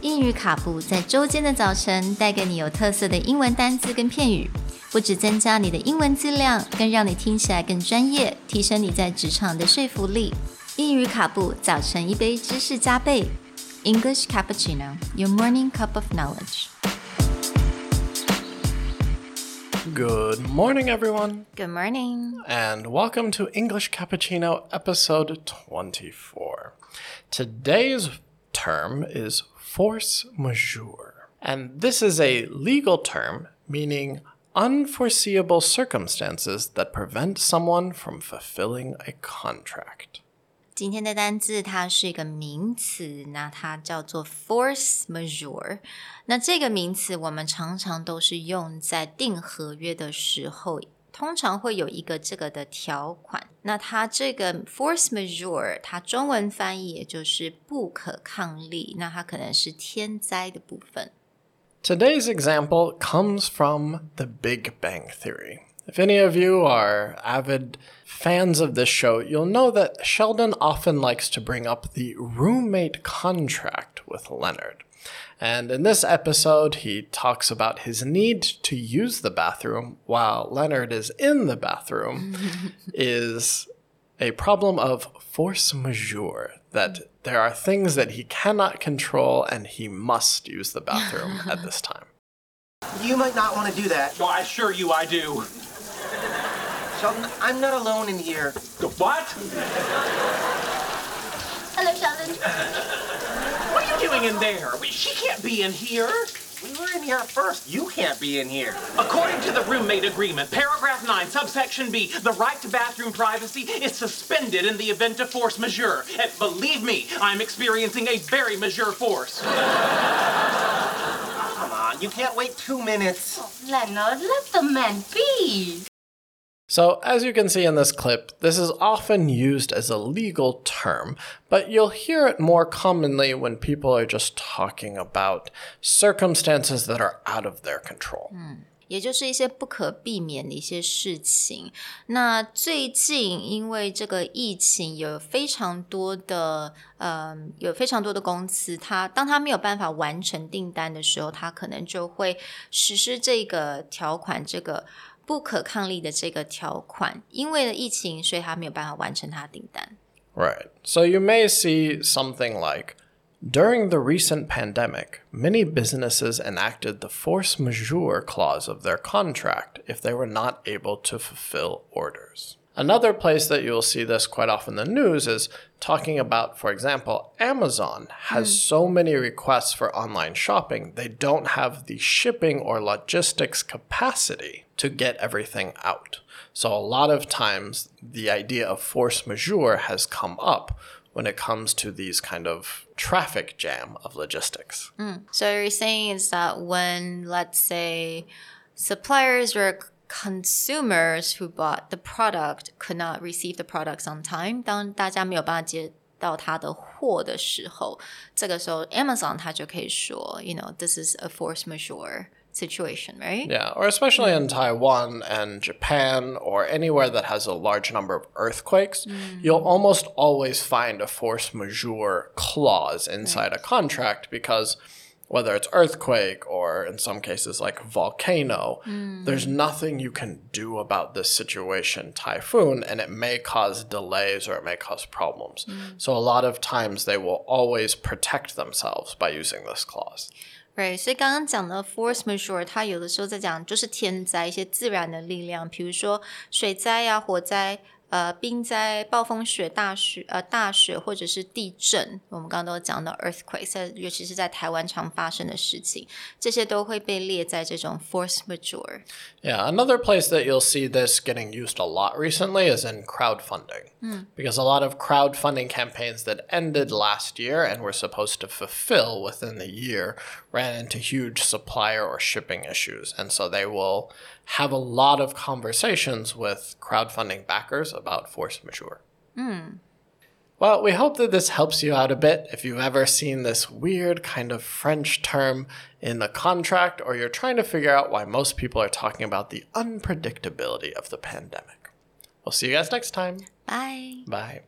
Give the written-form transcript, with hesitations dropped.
英语卡布在周间的早晨带给你有特色的英文单字跟片语，不只增加你的英文质量，更让你听起来更专业，提升你在职场的说服力。英语卡布早晨一杯知识加倍 English Cappuccino, your morning cup of knowledge. Good morning, everyone. Good morning. And welcome to English Cappuccino episode 24. Today's term is force majeure. And this is a legal term meaning unforeseeable circumstances that prevent someone from fulfilling a contract. 今天的单字它是一个名词，那它叫做 force majeure。那这个名词我们常常都是用在订合约的时候，通常会有一个这个的条款。那它这个 force majeure， 它中文翻译也就是不可抗力，那它可能是天灾的部分。 Today's example comes from The Big Bang Theory. If any of you are avid fans of this show, you'll know that Sheldon often likes to bring up the roommate contract with Leonard. And in this episode, he talks about his need to use the bathroom while Leonard is in the bathroom is a problem of force majeure, that there are things that he cannot control and he must use the bathroom at this time. You might not want to do that. Oh, I assure you I do. Sheldon, I'm not alone in here. What? Hello, Sheldon. What are you doing in there? She can't be in here. We were in here first. You can't be in here. According to the roommate agreement, paragraph 9, subsection B, the right to bathroom privacy is suspended in the event of force majeure. And believe me, I'm experiencing a very majeure force. Come on, you can't wait 2 minutes. Oh, Leonard, let the man be. So, as you can see in this clip, this is often used as a legal term, but you'll hear it more commonly when people are just talking about circumstances that are out of their control. 也就是一些不可避免的一些事情。那最近因为这个疫情，有非常多的公司，当他没有办法完成订单的时候，他可能就会实施这个条款，这个不可抗力的这个条款。因为了疫情，所以他没有办法完成他的订单。 Right. So you may see something like, during the recent pandemic, many businesses enacted the force majeure clause of their contract if they were not able to fulfill orders. Another place that you'll see this quite often in the news is talking about, for example, Amazon has so many requests for online shopping, they don't have the shipping or logistics capacity to get everything out. So a lot of times the idea of force majeure has come up when it comes to these kind of traffic jam of logistics. So you're saying is that when, let's say, suppliers or consumers who bought the product could not receive the products on time, 当大家没有办法接到他的货的时候，这个时候 Amazon 它就可以说 this is a force majeure situation, right? Yeah, or especially in Taiwan and Japan or anywhere that has a large number of earthquakes, you'll almost always find a force majeure clause inside a contract because whether it's earthquake or in some cases like volcano, there's nothing you can do about this situation, typhoon, and it may cause delays or it may cause problems. So a lot of times they will always protect themselves by using this clause. Right, 所以刚刚讲的 force majeure 它有的时候在讲就是天灾，一些自然的力量，比如说水灾啊、火灾、冰灾、暴风雪、大雪或者是地震，我们刚刚都讲到 earthquake， 尤其是在台湾常发生的事情，这些都会被列在这种 force majeure. Yeah, another place that you'll see this getting used a lot recently is in crowdfunding. Because a lot of crowdfunding campaigns that ended last year and were supposed to fulfill within the year ran into huge supplier or shipping issues. And so they will have a lot of conversations with crowdfunding backers about force majeure. Well, we hope that this helps you out a bit. If you've ever seen this weird kind of French term in a contract, or you're trying to figure out why most people are talking about the unpredictability of the pandemic. We'll see you guys next time. Bye. Bye.